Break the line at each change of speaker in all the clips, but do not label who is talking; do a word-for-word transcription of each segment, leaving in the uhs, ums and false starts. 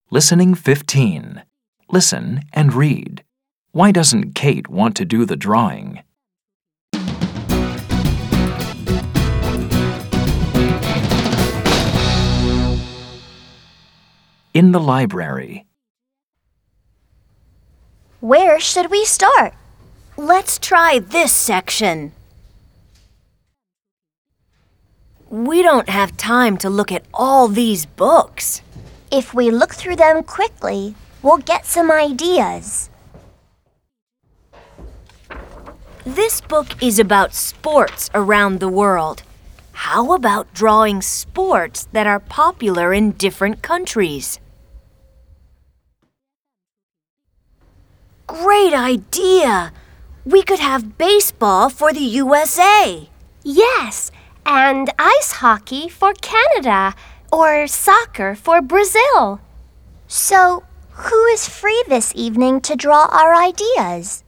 Listening fifteen. Listen and read. Why doesn't Kate want to do the drawing? In the library.
Where should we start?
Let's try this section. We don't have time to look at all these books.
If we look through them quickly, we'll get some ideas.
This book is about sports around the world. How about drawing sports that are popular in different countries? Great idea! We could have baseball for the U S A.
Yes, and ice hockey for Canada or soccer for Brazil.
So, who is free this evening to draw our ideas?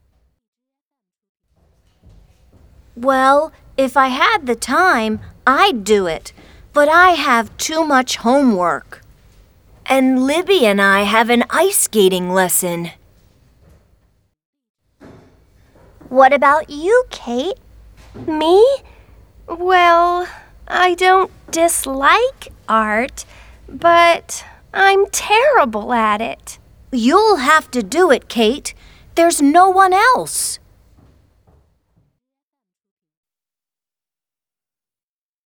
Well, if I had the time, I'd do it, but I have too much homework. And Libby and I have an ice skating lesson.
What about you, Kate?
Me? Well, I don't dislike art, but I'm terrible at it.
You'll have to do it, Kate. There's no one else.